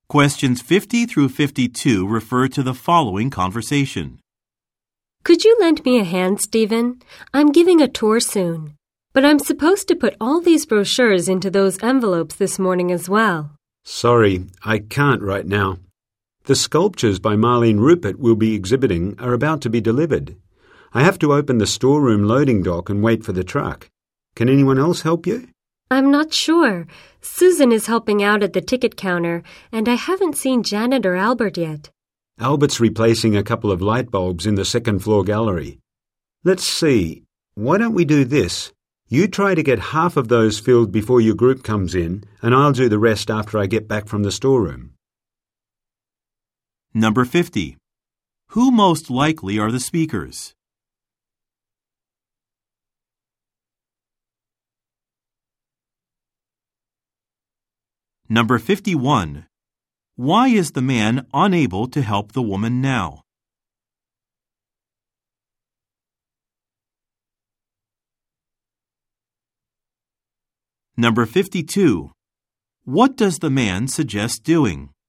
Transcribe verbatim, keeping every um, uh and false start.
Questions fifty through fifty-two refer to the following conversation. Could you lend me a hand, Stephen? I'm giving a tour soon, but I'm supposed to put all these brochures into those envelopes this morning as well. Sorry, I can't right now. The sculptures by Marlene Rupert we'll be exhibiting are about to be delivered. I have to open the storeroom loading dock and wait for the truck. Can anyone else help you? I'm not sure. Susan is helping out at the ticket counter, and I haven't seen Janet or Albert yet. Albert's replacing a couple of light bulbs in the second floor gallery. Let's see. Why don't we do this? You try to get half of those filled before your group comes in, and I'll do the rest after I get back from the storeroom. Number fifty. Who most likely are the speakers? Number fifty-one. Why is the man unable to help the woman now? Number fifty-two. What does the man suggest doing?